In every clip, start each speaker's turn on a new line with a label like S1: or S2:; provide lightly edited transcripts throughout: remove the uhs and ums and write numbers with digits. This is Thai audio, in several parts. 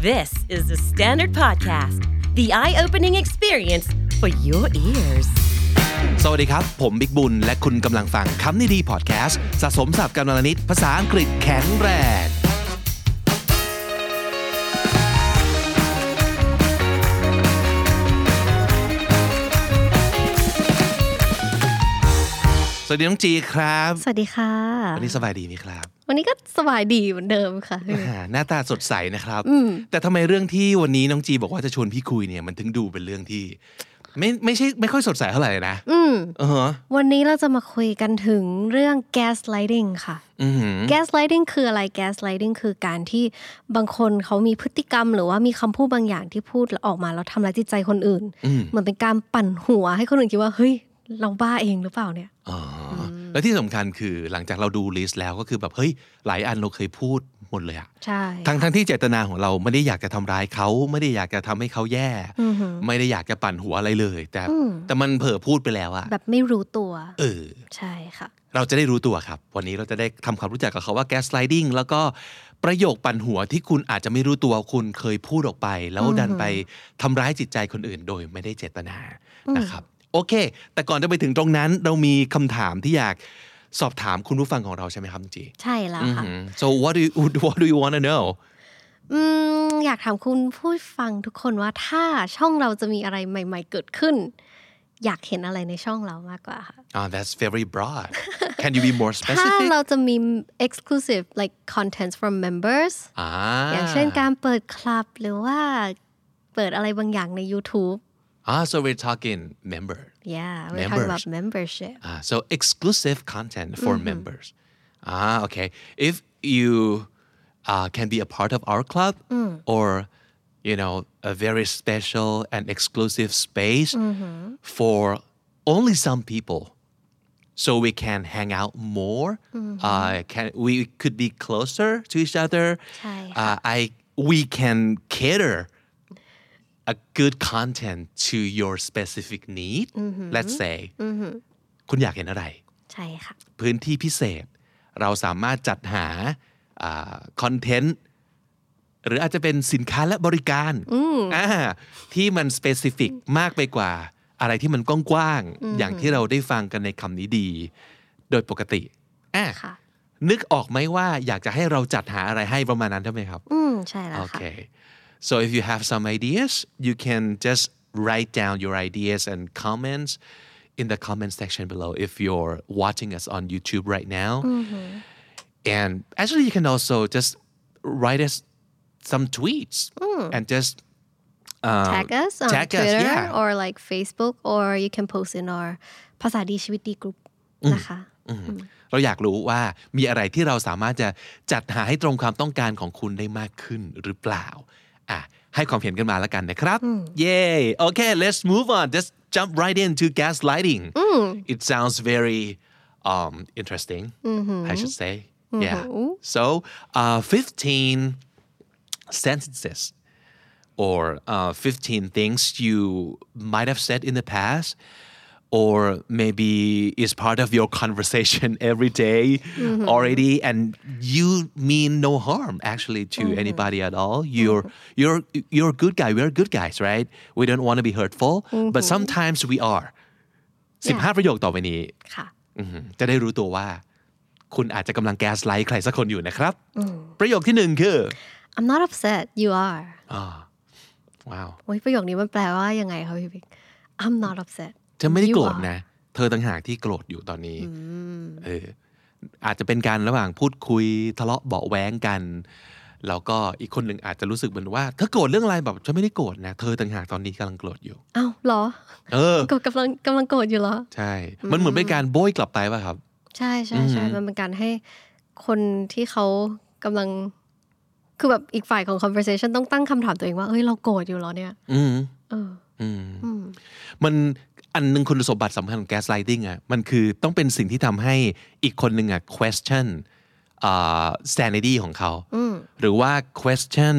S1: This is the Standard Podcast, the eye-opening experience for your ears.
S2: สวัสดีครับผมบิ๊กบุญและคุณกำลังฟังคำนี้ดีพอดแคสต์สะสมศัพท์กันวันละนิดภาษาอังกฤษแข็งแรงสวัสดีน้องจีครับ
S3: สวัสดีค่ะ
S2: วันนี้สบายดีไหมครับ
S3: วันนี้ก็สบายดีเหมือนเดิมค่ะ
S2: หน้าตาสดใสนะครับแต่ทำไมเรื่องที่วันนี้น้องจีบอกว่าจะชวนพี่คุยเนี่ยมันถึงดูเป็นเรื่องที่ไม่ค่อยสดใสเท่าไหร่นะ
S3: วันนี้เราจะมาคุยกันถึงเรื่อง gaslighting ค่ะ gaslighting คืออะไร gaslighting คือการที่บางคนเขามีพฤติกรรมหรือว่ามีคำพูดบางอย่างที่พูดออกมาแล้วทำร้ายจิตใจคนอื่นเหมือนเป็นการปั่นหัวให้คนอื่นคิดว่าเฮ้ยเราบ้าเองหรือเปล่าเนี่ย
S2: และที่สำคัญคือหลังจากเราดูลิสต์แล้วก็คือแบบเฮ้ยหลายอันเราเคยพูดหมดเลยอะ
S3: ใช่
S2: ทั้งที่เจตนาของเราไม่ได้อยากจะทำร้ายเขาไม่ได้อยากจะทำให้เขาแย่ไม่ได้อยากจะปั่นหัวอะไรเลยแต่มันเผลอพูดไปแล้วอะ
S3: แบบไม่รู้ตัวใช่ค่ะ
S2: เราจะได้รู้ตัวครับวันนี้เราจะได้ทำความรู้จักกับเขาว่า gaslighting แล้วก็ประโยคปั่นหัวที่คุณอาจจะไม่รู้ตัวคุณเคยพูดออกไปแล้วดันไปทำร้ายจิตใจคนอื่นโดยไม่ได้เจตนานะครับโอเคแต่ก่อนจะไปถึงตรงนั้นเรามีคำถามที่อยากสอบถามคุณผู้ฟังของเราใช่ไหมครับจี
S3: ใช่แล้วค่ะ
S2: So what do you want to know
S3: อยากถามคุณผู้ฟังทุกคนว่าถ้าช่องเราจะมีอะไรใหม่ๆเกิดขึ้นอยากเห็นอะไรในช่องเรามากกว่าค่ะ
S2: That's very broad Can you be more specific
S3: ถ้าเราจะมี exclusive like contents from members อย่างเช่นการเปิดคลับหรือว่าเปิดอะไรบางอย่างใน YouTube
S2: So we're talking member.
S3: Yeah, we're talking about membership.
S2: So exclusive content for members. Okay. If you can be a part of our club or, you know, a very special and exclusive space for only some people, so we can hang out more. We could be closer to each other. We can cater.A good content to your specific need let's say คุณอยากเห็นอะไร
S3: ใช่ค่ะ
S2: พื้นที่พิเศษเราสามารถจัดหาคอนเทนต์หรืออาจจะเป็นสินค้าและบริการที่มัน specific มากไปกว่าอะไรที่มันกว้างๆอย่างที่เราได้ฟังกันในคำนี้ดีโดยปกตินึกออกไหมว่าอยากจะให้เราจัดหาอะไรให้ประมาณนั้นใช่ไหมครับ
S3: ใช่แล้วค่ะ
S2: Okay So if you have some ideas, you can just write down your ideas and comments in the comment section below if you're watching us on YouTube right now. And actually, you can also just write us some tweets and just
S3: tag us on Twitter or like Facebook, or you can post in our ภาษาดีชีวิตดีกรุ๊ปนะคะ
S2: เราอยากรู้ว่ามีอะไรที่เราสามารถจะจัดหาให้ตรงความต้องการของคุณได้มากขึ้นหรือเปล่าให้ความเห็นกันมาแล้วกันนะครับ Yay Okay let's move on just jump right into gaslighting It sounds very interesting I should say Yeah So 15 sentences or 15 things you might have said in the past or maybe is part of your conversation every day already and you mean no harm actually to anybody at all you're a good guy we're good guys right we don't want to be hurtful but sometimes we are 15 ประโยคต่อไปนี้จะได้รู้ตัวว่าคุณอาจจะกำลังแก๊สไลท์ใครสักคนอยู่นะครับประโยคที่1คือ
S3: I'm not upset you are
S2: wow
S3: โอ้ยประโยคนี้มันแปลว่ายังไงคะพี่บิ๊ก I'm not upset
S2: เธอไม่ได้โกรธนะเธอต่างหากที่โกรธอยู่ตอนนี้อาจจะเป็นการระหว่างพูดคุยทะเลาะเบาะแว้งกันแล้วก็อีกคนหนึ่งอาจจะรู้สึกเหมือนว่าเธอโกรธเรื่องอะไรแบบฉันไม่ได้โกรธนะเธอต่างหากตอนนี้กำลังโกรธอยู่
S3: อ้าวเหรอก็กำลังโกรธอยู่เหรอ
S2: ใช่มันเหมือนเป็นการโบยกลับไปป่ะครับ
S3: ใช่ใช่ใช่มันเป็นการให้คนที่เขากำลังคือแบบอีกฝ่ายของ conversation ต้องตั้งคำถามตัวเองว่าเฮ้ยเราโกรธอยู่เหรอเนี่ย
S2: มันอันนึงคุณสมบัติสำคัญของ gaslighting มันคือต้องเป็นสิ่งที่ทำให้อีกคนนึงquestion sanity ของเขาหรือว่า question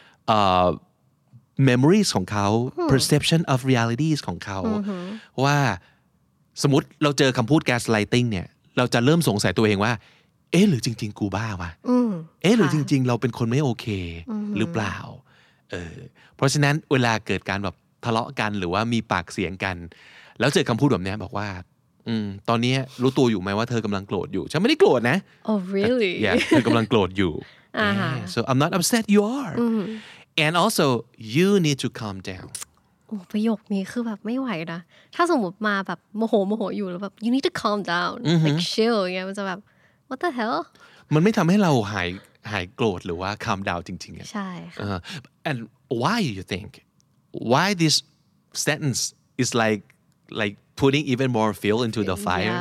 S2: memories ของเขา perception of realities ของเขาว่าสมมติเราเจอคำพูด gaslighting เนี่ยเราจะเริ่มสงสัยตัวเองว่าหรือจริงๆกูบ้าวะหรือจริงๆเราเป็นคนไม่โอเคหรือเปล่าเพราะฉะนั้นเวลาเกิดการแบบทะเลาะกันหรือว่ามีปากเสียงกันแล้วเจอคำพูดแบบนี้บอกว่าตอนนี้รู้ตัวอยู่ไหมว่าเธอกำลังโกรธอยู่ฉันไม่ได้โกรธนะ
S3: Oh really
S2: yeah เธอกำลังโกรธอยู่ so I'm not upset you are and also you need to calm down
S3: โอ้ประโยคนี้คือแบบไม่ไหวนะถ้าสมมติมาแบบโมโหอยู่แล้วแบบ you need to calm down like chill อย่างเงี้ยมันจะแบบ what the hell
S2: มันไม่ทำให้เราหายโกรธหรือว่า calm down จริงๆ
S3: ใช่ค่ะ
S2: and why you think why this sentence is like putting even more fuel into the fire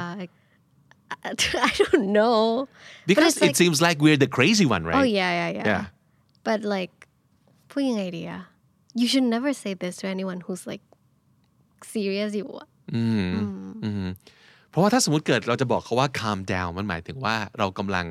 S3: I don't know
S2: because it seems like we're the crazy one right
S3: oh yeah but like พูดยังไงดีอะ you should never say this to anyone who's like serious อยู่อะ
S2: เพราะว่าถ้าสมมติเกิดเราจะบอกเขาว่า calm down มันหมายถึงว่าเรากำลัง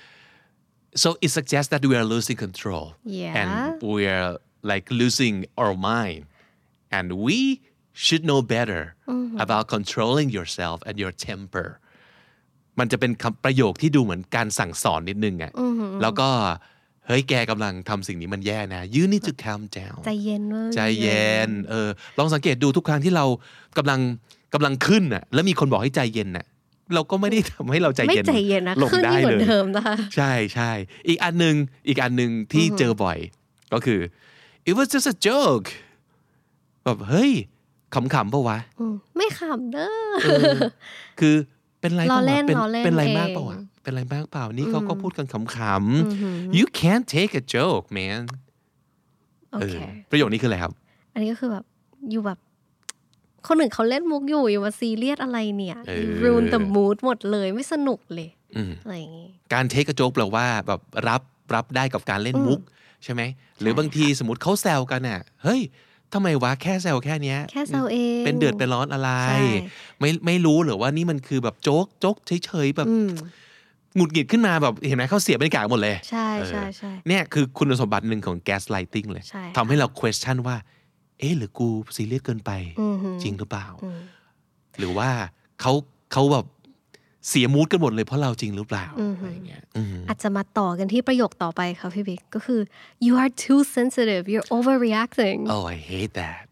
S2: so it suggests that we are losing control and we are like losing our mind and we should know better about controlling yourself and your temper มันจะเป็นคำประโยคที่ดูเหมือนการสั่งสอนนิดนึงอะแล้วก็เฮ้ยแกกำลังทำสิ่งนี้มันแย่นะ you need to calm down
S3: ใจเย็นเว้ย
S2: ใจเย็นลองสังเกตดูทุกครั้งที่เรากำลังขึ้นน่ะแล้วมีคนบอกให้ใจเย็นน่ะเราก็ไม่ได้ทำให้เราใจเย็นลงได้เลยใช่ใช่อีกอันนึงที่เจอบ่อยก็คือ it was just a joke แบบเฮ้ยขำๆป่ะวะ
S3: ไม่ขำเด้อ
S2: คือเป็นไรเปล่าเป็นไรมาก
S3: เปล่า
S2: เป็นไรมากเปล่านี่เขาก็พูดกันขำๆ you can't take a joke man
S3: โอเค
S2: ประโยคนี้คืออะไรครับ
S3: อันนี้ก็คือแบบอยู่แบบคนหนึ่งเขาเล่นมุกอยู่มาซีเรียสอะไรเนี่ย ruin the mood หมดเลยไม่สนุกเลยอะไรอย่างงี้
S2: การ take a joke แปลว่าแบบรับได้กับการเล่นมุกใช่ไหมหรือบางทีสมมติเขาแซวกันน่ะเฮ้ยทำไมวะแค่แซวแค่เนี้ย
S3: แค่แซวเอง
S2: เป็นเดือดเป็นร้อนอะไรไม่รู้หรือว่านี่มันคือแบบโจ๊กเฉยๆแบบหงุดหงิดขึ้นมาแบบเห็นไหมเขาเสียบรรยากาศหมดเลย
S3: ใช่
S2: เนี่ยคือคุณสมบัติหนึ่งของ gaslighting เลยทำให้เรา question ว่าหรือกูซีเรียสเกินไปจริงหรือเปล่าหรือว่าเขาแบบเสียมูดกันหมดเลยเพราะเราจริงหรือเปล่าอะไรเงี้ย
S3: อาจจะมาต่อกันที่ประโยคต่อไปค่ะพี่บิ๊กก็คือ you are too sensitive you're overreacting
S2: oh I hate that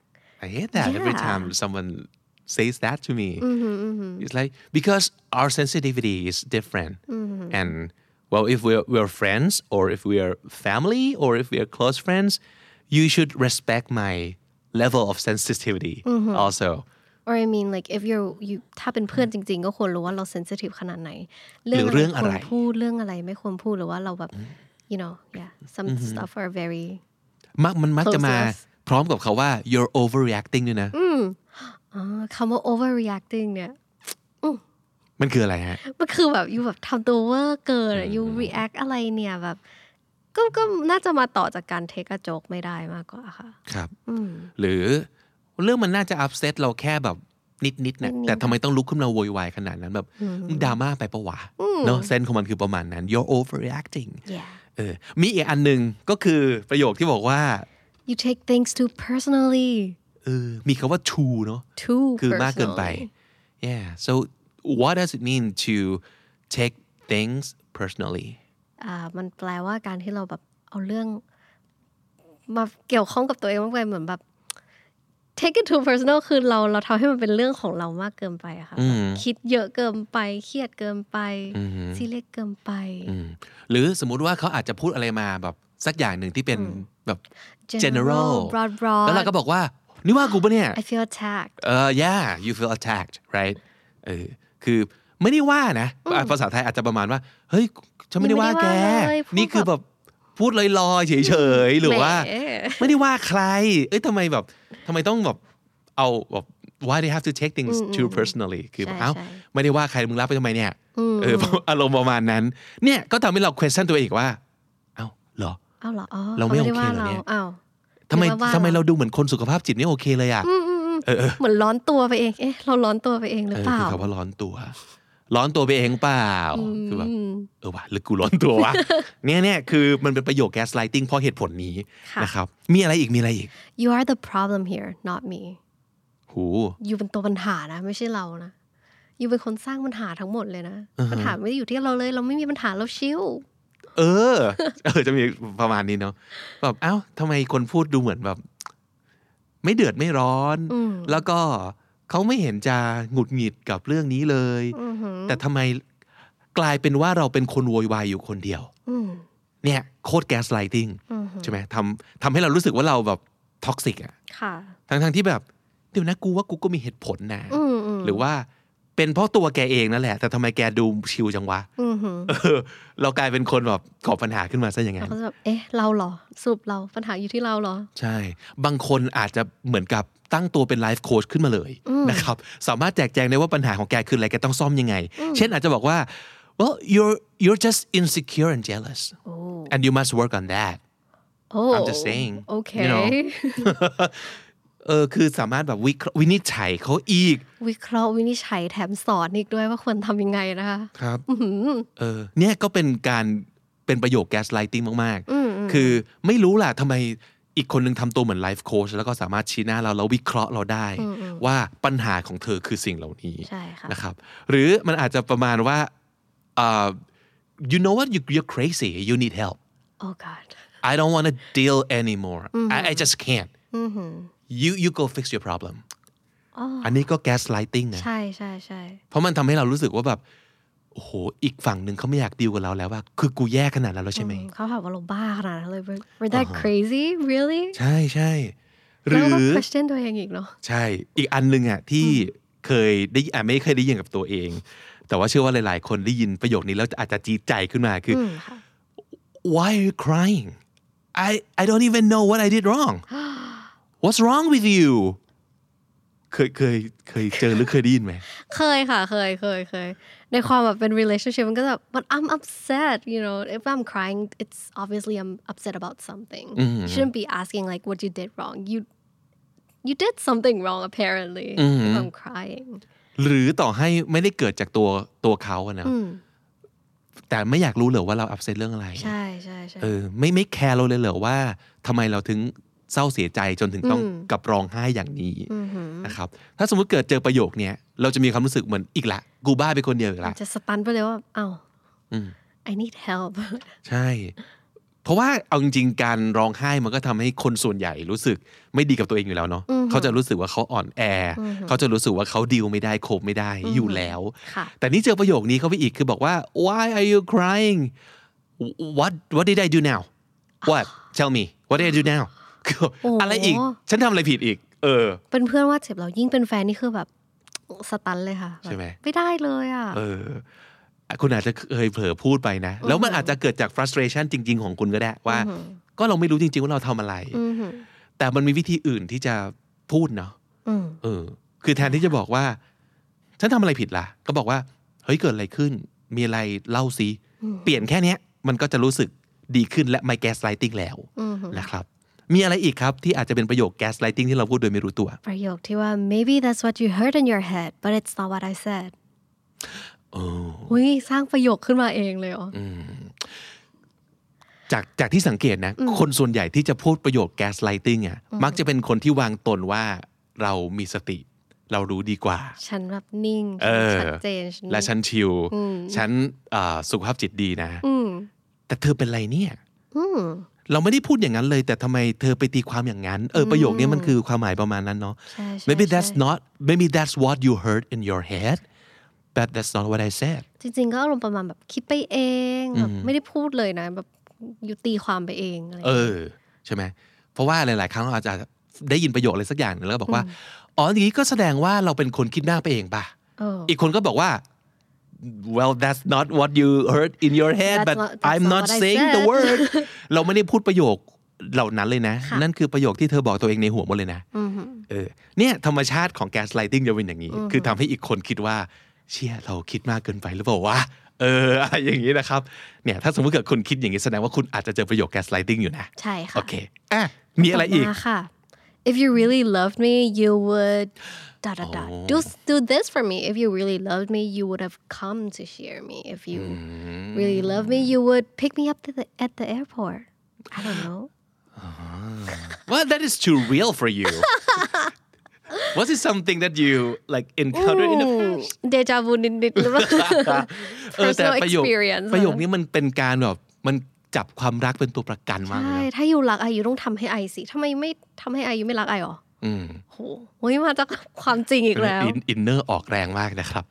S2: every time someone says that to me it's like because our sensitivity is different and well if we're friends or if we are family or if we are close friends you should respect my level of sensitivity also
S3: or I mean like if you ถ้าเป็นเพื่อนจริงๆก็ควรรู้ว่าเรา sensitive ขนาดไหน
S2: เรื่องอะไร
S3: ควรพูดเรื่องอะไรไม่ควรพูดหรือว่าเราแบบ you know yeah some stuff are very
S2: มันมักจะมาพร้อมกับเขาว่า you're overreacting ด้วยนะ
S3: คำว่า overreacting เนี่ย
S2: มันคืออะไรฮะ
S3: มันคือแบบอยู่แบบทำตัวเวอร์เกินอยู่ react อะไรเนี่ยแบบก็น่าจะมาต่อจากการ take a joke ไม่ได้มากกว่าค่ะ
S2: ครับหรือเรื่องมันน่าจะ upset เราแค่แบบนิดๆนะแต่ทำไมต้องลุกขึ้นมาโวยวายขนาดนั้นแบบดราม่าไปปะวะเนาะเซนส์ของมันคือประมาณนั้น you're overreacting มีอีกอันนึงก็คือประโยคที่บอกว่า
S3: you take things too personally
S2: มีคำว่า too เนาะ
S3: too
S2: คือมากเกินไป yeah so what does it mean to take things personally
S3: มันแปลว่าการที่เราแบบเอาเรื่องมาเกี่ยวข้องกับตัวเองมากไปเหมือนแบบ take it too personal คือเราทำให้มันเป็นเรื่องของเรามากเกินไปอะค่ะคิดเยอะเกินไปเครียดเกินไปซีเรียสเกินไป
S2: หรือสมมุติว่าเขาอาจจะพูดอะไรมาแบบสักอย่างหนึ่งที่เป็นแบบ general
S3: broad
S2: แล้วเราก็บอกว่านี่ว่ากูปะเนี่ย
S3: I feel attacked
S2: yeah you feel attacked right คือไม่ได้ว่านะภาษาไทยอาจจะประมาณว่าเฮ้ยฉันไม่ได้ว่าแกนี่คือแบบพูดลอยๆเฉยๆหรือว่าไม่ได้ว่าใครทำไมต้องแบบเอาแบบ why they have to take things too personally คือเอ้าไม่ได้ว่าใครมึงรับไปทำไมเนี่ยอารมณ์ประมาณนั้นเนี่ยก็ทำให้เรา question ตัวเองว่าเอ้าเหรอเราไม่โอเคเหรอเนี่ยทำไมเราดูเหมือนคนสุขภาพจิตไม่โอเคเลยอ่ะ
S3: เหมือนร้อนตัวไปเองเราร้อนตัวไปเองหรือเปล่า
S2: คือคำว่าร้อนตัวไปเองเปล่าคือแบบว่ะหรือกูร้อนตัววะเนี่ยคือมันเป็นประโยค gaslighting เพราะเหตุผลนี้นะครับมีอะไรอีก
S3: you are the problem here not me อยู่เป็นตัวปัญหานะไม่ใช่เรานะอยู่เป็นคนสร้างปัญหาทั้งหมดเลยนะปัญหาไม่ได้อยู่ที่เราเลยเราไม่มีปัญหาเราชิล
S2: จะมีประมาณนี้เนาะแบบเอ้าทำไมคนพูดดูเหมือนแบบไม่เดือดไม่ร้อนแล้วก็เขาไม่เห็นจะหงุดหงิดกับเรื่องนี้เลยแต่ทำไมกลายเป็นว่าเราเป็นคนโวยวายอยู่คนเดียวเนี่ยโคตรแก๊สไลติ้งใช่ไหมทำให้เรารู้สึกว่าเราแบบท็อกซิกอ่ะทั้งที่แบบเดี๋ยวนะกูว่ากูก็มีเหตุผลนะหรือว่าเป็นเพราะตัวแกเองนั่นแหละแต่ทำไมแกดูชิลจังวะเรากลายเป็นคนแบบก่อปัญหาขึ้นมาซะอย่างนั้น
S3: เราก็แบบเราเหรอสรุปเราปัญหาอยู่ที่เราเหรอ
S2: ใช่บางคนอาจจะเหมือนกับตั้งตัวเป็นไลฟ์โค้ชขึ้นมาเลยนะครับสามารถแจกแจงได้ว่าปัญหาของแกคืออะไรแกต้องซ่อมยังไงเช่นอาจจะบอกว่า well you're just insecure and jealous and you must work on that I'm just saying
S3: okay
S2: you know คือสามารถแบบวินิจฉัยเขาอีก
S3: วิเคราะห์วินิจฉัยแถมสอนอีกด้วยว่าควรทำยังไงนะคะ
S2: ครับเนี่ยก็เป็นประโยค gaslighting มากๆคือไม่รู้ล่ะทำไมอีกคนนึงทำตัวเหมือนไลฟ์โค้ชแล้วก็สามารถชี้หน้าเราแล้ววิเคราะห์เราได้ว่าปัญหาของเธอคือสิ่งเหล่านี้นะครับหรือมันอาจจะประมาณว่าyou know what you're crazy you need help
S3: oh god
S2: I don't want to deal anymore I just can't you go fix your problem อันนี้ก็ gaslighting นะ
S3: ใช่ๆๆ
S2: เพราะมันทำให้เรารู้สึกว่าแบบโอ้โหอีกฝั่งนึงเขาไม่อยากดีลกับเราแล้วว่าคือกูแย่ขนาดนั้นแล้วใช่ไหม
S3: เขาถามว่าเราบ้าขนาดนั้นเลย we're that crazy really
S2: ใช่ๆหรือ
S3: question ตัวเองอีกเนาะ
S2: ใช่อีกอันนึงอ่ะที่เคยได้ไม่เคยได้ยินกับตัวเองแต่ว่าเชื่อว่าหลายๆคนได้ยินประโยคนี้แล้วอาจจะจี๊ดใจขึ้นมาคือ why are you crying I don't even know what I did wrong what's wrong with you เคยเจอหรือเคยได้ยินไหม
S3: เคยค่ะเคยในความแบบเป็น relationship มันก็แบบ but I'm upset you know if I'm crying it's obviously I'm upset about something you shouldn't be asking like what you did wrong you did something wrong apparently if I'm crying
S2: หรือต่อให้ไม่ได้เกิดจากตัวเขาอะนะแต่ไม่อยากรู้เหรอว่าเรา upset เรื่องอะไร
S3: ใช่
S2: ไม่แคร์เราเลยเหรอว่าทำไมเราถึงเศร้าเสียใจจนถึงต้องกับร้องไห้อย่างนี้นะครับถ้าสมมุติเกิดเจอประโยคนี้เราจะมีความรู้สึกเหมือนอีกละกูบ้าไปคนเดียวอีกละ
S3: จะสตันไปเลยว่าอ้าว I need help
S2: ใช่เพราะว่าเอาจริงๆการร้องไห้มันก็ทำให้คนส่วนใหญ่รู้สึกไม่ดีกับตัวเองอยู่แล้วเนาะเขาจะรู้สึกว่าเขาอ่อนแอเขาจะรู้สึกว่าเขาดีลไม่ได้โคบไม่ได้อยู่แล้วแต่นี่เจอประโยคนี้เข้าไปอีกคือบอกว่า why are you crying what did I do now what tell me what did I do now อะไรอีกฉันทำอะไรผิดอีก
S3: เป็นเพื่อนว่าเจ็บเรายิ่งเป็นแฟนนี่คือแบบสตันเลยค่ะ
S2: ใช่ไหม
S3: ไม่ได้เลยอ่ะ
S2: คุณอาจจะเคยเผลอพูดไปนะแล้วมันอาจจะเกิดจาก frustration จริงๆของคุณก็ได้ว่าก็เราไม่รู้จริงๆว่าเราทำอะไรแต่มันมีวิธีอื่นที่จะพูดเนาะคือแทนที่จะบอกว่าฉันทำอะไรผิดล่ะก็บอกว่าเฮ้ยเกิดอะไรขึ้นมีอะไรเล่าซิเปลี่ยนแค่นี้มันก็จะรู้สึกดีขึ้นและไม่ gaslighting แล้วนะครับมีอะไรอีกครับที่อาจจะเป็นประโยค gaslighting ที่เราพูดโดยไม่รู้ตัว
S3: ประโยคที่ว่า maybe that's what you heard in your head but it's not what I said อุ้ยสร้างประโยคขึ้นมาเองเลยเหรอ
S2: จากที่สังเกตนะคนส่วนใหญ่ที่จะพูดประโยค gaslighting อ่ะมักจะเป็นคนที่วางตนว่าเรามีสติเรารู้ดีกว่า
S3: ฉันแบบนิ่งชัดเจน
S2: และฉันชิลฉันสุขภาพจิตดีนะแต่เธอเป็นไรเนี่ยเราไม่ได้พูดอย่างนั้นเลยแต่ทำไมเธอไปตีความอย่างนั้นประโยคนี้มันคือความหมายประมาณนั้นเนาะ maybe that's what you heard in your head but that's not what I said
S3: จริงๆก็อารมณ์ประมาณแบบคิดไปเองแบบไม่ได้พูดเลยนะแบบอยู่ตีความไปเองอะไร
S2: ใช่ไหมเพราะว่าหลายๆครั้งเราอาจจะได้ยินประโยคอะไรสักอย่างนึงแล้วก็บอกว่าอ๋ออย่างนี้ก็แสดงว่าเราเป็นคนคิดมากไปเองป่ะอีกคนก็บอกว่า well that's not what you heard in your head but I'm not saying the word เราไม่ได้พูดประโยคเหล่านั้นเลยนะนั่นคือประโยคที่เธอบอกตัวเองในหัวหมดเลยนะเนี่ยธรรมชาติของ gaslighting จะเป็นอย่างนี้คือทำให้อีกคนคิดว่าเชี่ยเราคิดมากเกินไปหรือเปล่าวะอะไรอย่างนี้นะครับเนี่ยถ้าสมมติเกิดคุณคิดอย่างนี้แสดงว่าคุณอาจจะเจอประโยค gaslighting อยู่นะ
S3: ใช่ค่ะ
S2: โอเคมีอะไรอีก
S3: If you really loved me you would do this for me if you really loved me you would have come to hear me if you really loved me you would pick me up at the airport I don't know
S2: well that is too real for you Was it something that you like encountered in the past
S3: เดจาวูนิดๆหรือเปล่า personal experience
S2: ประโยคนี้มันเป็นการแบบมันจับความรักเป็นตัวประกันมากเลย
S3: ใช่ถ้าอยู่รักไออยู่ต้องทำให้ไอสิทำไมไม่ทำให้ไออยู่ไม่รักไอหรอโหมาจากความจริงอีกแล้ว
S2: อินเนอร์ออกแรงมากนะครับ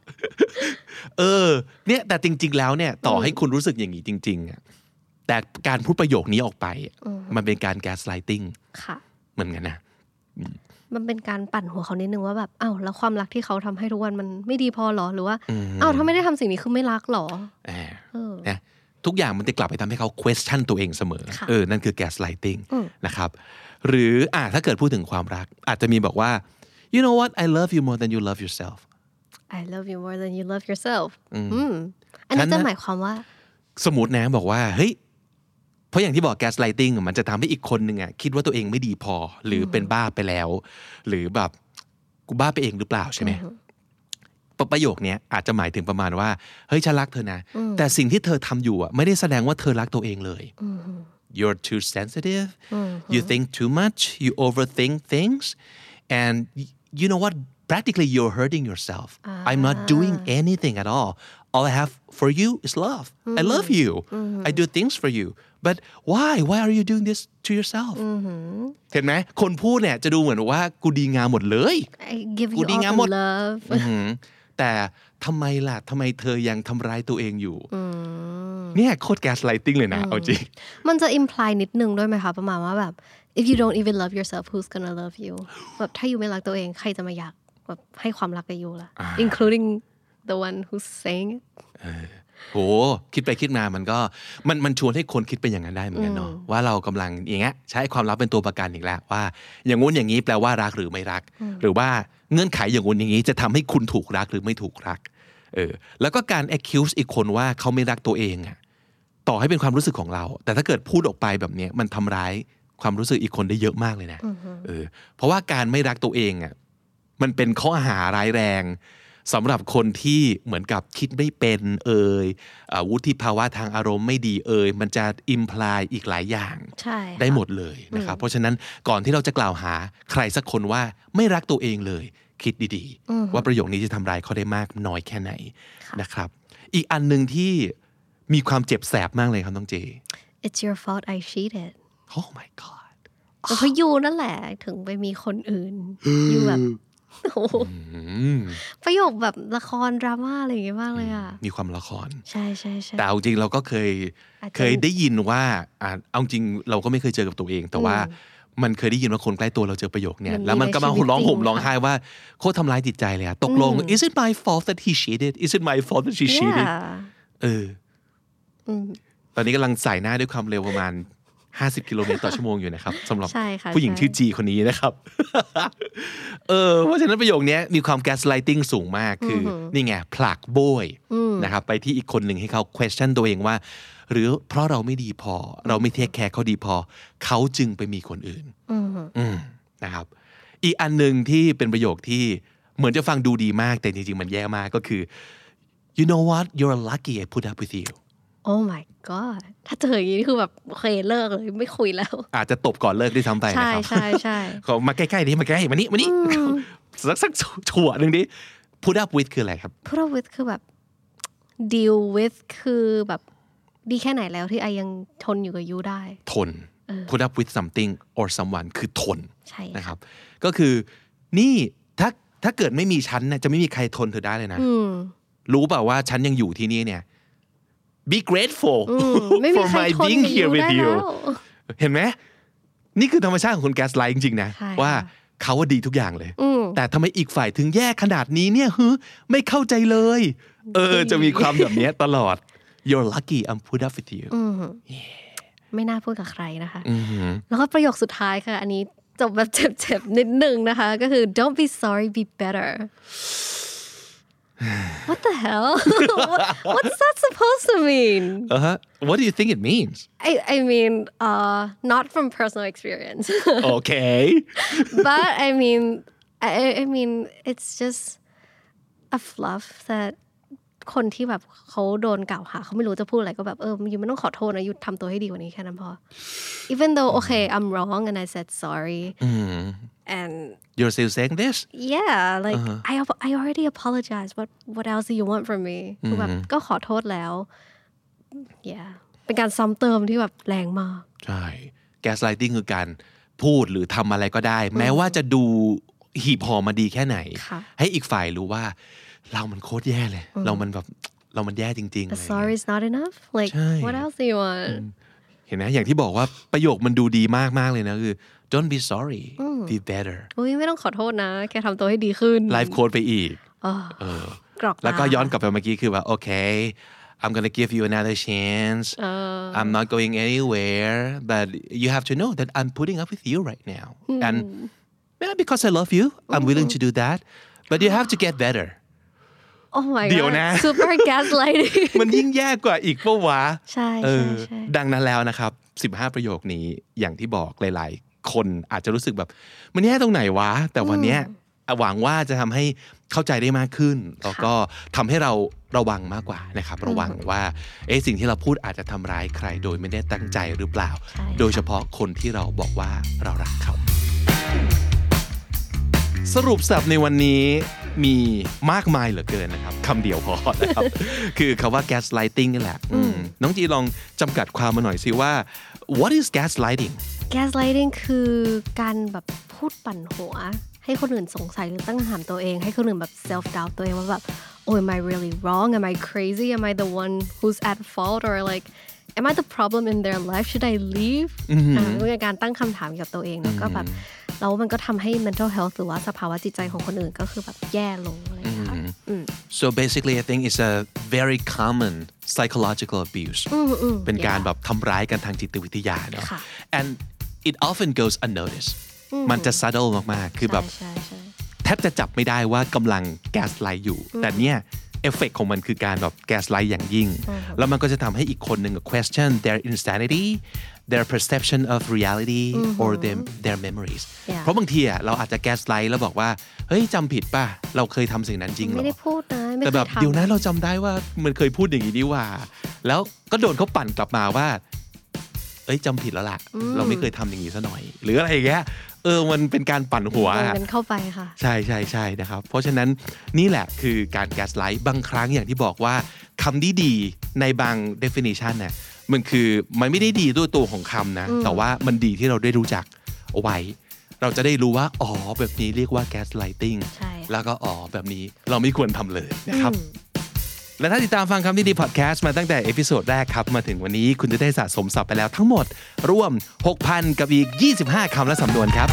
S2: เนี่ยแต่จริงๆแล้วเนี่ยต่อให้คุณรู้สึกอย่างนี้จริงๆอ่ะแต่การพูดประโยคนี้ออกไปมันเป็นการแก๊สไลติ้งเหมือนกันนะ
S3: มันเป็นการปั่นหัวเขานิดนึงว่าแบบแล้วความรักที่เขาทำให้ทุกวันมันไม่ดีพอหรอหรือว่าถ้าไม่ได้ทำสิ่งนี้คือไม่รักหรอ
S2: นะทุกอย่างมันจะกลับไปทำให้เขา question ตัวเองเสมอนั่นคือ gaslighting นะครับหรือถ้าเกิดพูดถึงความรักอาจจะมีบอกว่า you know what I love you more than you love yourself
S3: I love you more than you love yourself อันนี้จะหมายความว่า
S2: สมมุตินะบอกว่าเฮ้ยเพราะอย่างที่บอก gaslighting มันจะทำให้อีกคนนึงคิดว่าตัวเองไม่ดีพอหรือเป็นบ้าไปแล้วหรือแบบกูบ้าไปเองหรือเปล่าใช่ไหมประโยคนี้อาจจะหมายถึงประมาณว่าเฮ้ยฉันรักเธอนะแต่สิ่งที่เธอทำอยู่ไม่ได้แสดงว่าเธอรักตัวเองเลย you're too sensitive you think too much you overthink things and you know what practically you're hurting yourself I'm not doing anything at all I have for you is love I love you I do things for you but why are you doing this to yourself เห็นไหมคนพูดเนี่ยจะดูเหมือนว่ากูดีงามหมดเลย
S3: I give you all the love
S2: แต่ทำไมล่ะทำไมเธอยังทำร้ายตัวเองอยู่เนี่ยโคตรแก๊สไลติ้งเลยนะเอาจริง
S3: มันจะ imply นิดนึงด้วยไหมคะประมาณว่าแบบ if you don't even love yourself who's gonna love you แบบถ้าอยู่ไม่รักตัวเองใครจะมาอยากแบบให้ความรักกับอยู่ล่ะ including the one who's saying it
S2: โหคิดไปคิดมามันก็มันชวนให้คนคิดไปอย่างนั้นได้เหมือนกันเนาะว่าเรากำลังอย่างเงี้ยใช้ความรักเป็นตัวประกันอีกแล้วว่าอย่างงู้นอย่างนี้แปลว่ารักหรือไม่รักหรือว่าเงื่อนไขอย่างงู้นอย่างนี้จะทำให้คุณถูกรักหรือไม่ถูกรักแล้วก็การ accuse อีกคนว่าเขาไม่รักตัวเองต่อให้เป็นความรู้สึกของเราแต่ถ้าเกิดพูดออกไปแบบนี้มันทำร้ายความรู้สึกอีกคนได้เยอะมากเลยนะเพราะว่าการไม่รักตัวเองมันเป็นข้อหาร้ายแรงสำหรับคนที่เหมือนกับคิดไม่เป็นวุฒิภาวะทางอารมณ์ไม่ดีมันจะอิมพลายอีกหลายอย่างได้หมดเลยนะครับเพราะฉะนั้นก่อนที่เราจะกล่าวหาใครสักคนว่าไม่รักตัวเองเลยคิดดีๆว่าประโยคนี้จะทำร้ายเขาได้มากน้อยแค่ไหนนะครับอีกอันนึงที่มีความเจ็บแสบมากเลยครับน้องเจ
S3: It's your fault I cheated
S2: Oh my god
S3: เพราะยูนั่นแหละถึงไปมีคนอื่นยูแบบประโยคแบบละครดราม่าอะไรอย่างเงี้ยมากเลย
S2: มีความละคร
S3: ใช่ใช่ใช่
S2: แต่เอาจริงเราก็เคยได้ยินว่าเอาจริงเราก็ไม่เคยเจอกับตัวเองแต่ว่ามันเคยได้ยินว่าคนใกล้ตัวเราเจอประโยคเนี้ยแล้วมันก็มาร้องห่มร้องไห้ว่าโคตรทำร้ายจิตใจเลยตกลง is it my fault that he cheated is it my fault that she cheated ตอนนี้กำลังใส่หน้าด้วยความเร็วประมาณ50 กิโลเมตรต่อชั่วโมงอยู่นะครับสำหรับผู้หญิงชื่อจีคนนี้นะครับเพราะฉะนั้นประโยคนี้มีความ gaslighting สูงมากคือนี่ไงผลักโบยนะครับไปที่อีกคนหนึ่งให้เขา question ตัวเองว่าหรือเพราะเราไม่ดีพอเราไม่เทคแคร์เขาดีพอเขาจึงไปมีคนอื่นนะครับอีกอันนึงที่เป็นประโยคที่เหมือนจะฟังดูดีมากแต่จริงๆมันแย่มากก็คือ you know what you're lucky I put up with you
S3: Oh my god ถ้าเจออย่างนี้คือแบบโอเคเลิกเลยไม่คุยแล้ว
S2: อาจจะตบก่อนเลิกด้วยซ้ำไปนะครับ
S3: ใช่
S2: เขามาใกล้ๆดิมาใกล้มานี่สักชั่วนึงดิ put up with คืออะไรครับ
S3: put up with คือแบบ deal with คือแบบดีแค่ไหนแล้วที่ไอยังทนอยู่กับยูได้
S2: ทน put up with something or someone คือทนนะครับก็คือนี่ถ้าเกิดไม่มีฉันนะจะไม่มีใครทนเธอได้เลยนะรู้เปล่าว่าฉันยังอยู่ที่นี่เนี่ยBe grateful for my being here with you เห็นไหมนี่คือธรรมชาติของคนแก๊สไลท์จริงๆนะว่าเขาว่าดีทุกอย่างเลยแต่ทำไมอีกฝ่ายถึงแย่ขนาดนี้เนี่ยไม่เข้าใจเลยจะมีความแบบนี้ตลอด You're lucky I'm put up with you
S3: ไม่น่าพูดกับใครนะคะแล้วก็ประโยคสุดท้ายค่ะอันนี้จบแบบเจ็บๆนิดนึงนะคะก็คือ Don't be sorry be better What the hell? What's that supposed to mean?
S2: What do you think it means?
S3: I mean, not from personal experience.
S2: Okay.
S3: But I mean, it's just a fluff that คนที่แบบเขาโดนกล่าวหาเขาไม่รู้จะพูดอะไรก็แบบยูไม่ต้องขอโทษนะยูทำตัวให้ดีกว่านี้แค่นั้นพอ Even though okay I'm wrong and I said sorry and
S2: You're still saying this?
S3: Yeah like I already apologized what else do you want from me คือแบบก็ขอโทษแล้ว yeah เป็นการซ้ำเติมที่แบบแรงมาก
S2: ใช่ gaslighting คือการพูดหรือทำอะไรก็ได้แม้ว่าจะดูหีบห่อมาดีแค่ไหนให้อีกฝ่ายรู้ว่าเรามันโคตรแย่เลยเรามันแย่จริงๆ
S3: sorry is not enough like what else do you want
S2: เห็นไหมอย่างที่บอกว่าประโยคมันดูดีมากๆเลยนะคือ don't be sorry be better
S3: ไม่ต้องขอโทษนะแค่ทำตัวให้ดีขึ้น
S2: life quote ไปอีกแล้วก็ย้อนกลับไปเมื่อกี้คือว่า okay I'm gonna give you another chance I'm not going anywhere but you have to know that I'm putting up with you right now and because I love you I'm willing to do that but you have to get better
S3: Oh my god
S2: เดี๋ยวนะ
S3: super gaslighting
S2: มันยิ่งแย่กว่าอีกปะวะ
S3: ใช่
S2: ดังนั้นแล้วนะครับ15ประโยคนี้อย่างที่บอกหลายๆคนอาจจะรู้สึกแบบมันแย่ตรงไหนวะแต่วันนี้หวังว่าจะทำให้เข้าใจได้มากขึ้นแล้วก็ทำให้เราระวังมากกว่านะครับระวังว่าสิ่งที่เราพูดอาจจะทำร้ายใครโดยไม่ได้ตั้งใจหรือเปล่าโดยเฉพาะคนที่เราบอกว่าเรารักเขาสรุปศัพท์ในวันนี้มีมากมายเหลือเกินนะครับคำเดียวพอนะครับ คือคำว่า gaslighting นี่แหละน้องจีลองจำกัดความมาหน่อยสิว่า what is gaslighting
S3: gaslighting คือการแบบพูดปั่นหัวให้คนอื่นสงสัยหรือตั้งคำถามตัวเองให้คนอื่นแบบ self doubt ตัวเองว่าแบบ oh am I really wrong am I crazy am I the one who's at fault or like am I the problem in their life should I leave เป็นการตั้งคำถามกับตัวเองแล้วก็แบบแล้วมันก็ทำให้ mental health หรือว่าสภาวะจิตใจของคนอื่นก็คือแบบแย่ลงเลยค่ะ
S2: so basically I think it's a very common psychological abuse เป็นการแบบทำร้ายกันทางจิตวิทยาเนาะ and it often goes unnoticed มันจะ subtle มากๆคือแบบแทบจะจับไม่ได้ว่ากำลัง gaslight อยู่แต่เนี่ยเอฟเฟกต์ของมันคือการแบบ gaslight อย่างยิ่งแล้วมันก็จะทำให้อีกคนหนึ่ง question their insanity their perception of reality or their memories เพราะบางทีเราอาจจะ gaslight แล้วบอกว่าเฮ้ยจำผิดป่ะเราเคยทำสิ่งนั้นจริงเหรอ
S3: ไม่ได้พูดนะ
S2: แต่แบบเดี๋ยวนะเราจำได้ว่ามันเคยพูดอย่างนี้นี่ว่าแล้วก็โดนเขาปั่นกลับมาว่าจำผิดแล้วล่ะเราไม่เคยทำอย่างนี้ซะหน่อยหรืออะไรอย่างเงี้ยมันเป็นการปั่นหัว
S3: มันเข้าไปค่ะ
S2: ใช่ใช่ใช่นะครับเพราะฉะนั้นนี่แหละคือการ gaslight บางครั้งอย่างที่บอกว่าคำดีในบาง definition เนี่ยมันคือมันไม่ได้ดีด้วยตัวของคำนะแต่ว่ามันดีที่เราได้รู้จักเอาไว้เราจะได้รู้ว่าอ๋อแบบนี้เรียกว่า gaslighting แล้วก็อ๋อแบบนี้เราไม่ควรทำเลยนะครับและถ้าติดตามฟังคำดีๆพอดแคสต์มาตั้งแต่เอพิโซดแรกครับมาถึงวันนี้คุณจะได้สะสมศัพท์ไปแล้วทั้งหมดรวม 6,000 กับอีก25คำและสำนวนครับ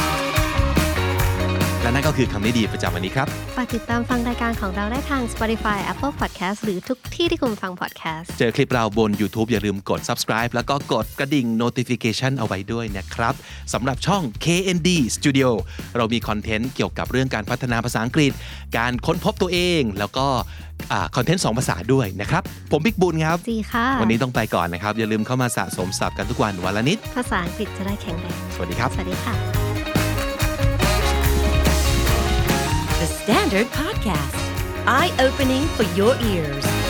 S2: และนั่นก็คือคำดีๆประจำวันนี้ครับ
S3: ฝากติดตามฟังรายการของเราได้ทาง Spotify Apple Podcast หรือทุกที่ที่คุณฟัง podcast
S2: เจอคลิปเราบน YouTube อย่าลืมกด subscribe แล้วก็กดกระดิ่ง notification เอาไว้ด้วยนะครับสำหรับช่อง KND Studio เรามีคอนเทนต์เกี่ยวกับเรื่องการพัฒนาภาษาอังกฤษการค้นพบตัวเองแล้วก็คอนเทนต์2ภาษาด้วยนะครับผมบิ๊กบุญครับ
S3: จีค่ะ
S2: วันนี้ต้องไปก่อนนะครับอย่าลืมเข้ามาสะสมศัพท์กันทุกวันวันละนิด
S3: ภาษาอังกฤษจะได้แข็งแรง
S2: สวัสดีครับ
S3: สวัสดีค่ะ
S1: The Standard Podcast Eye Opening for Your Ears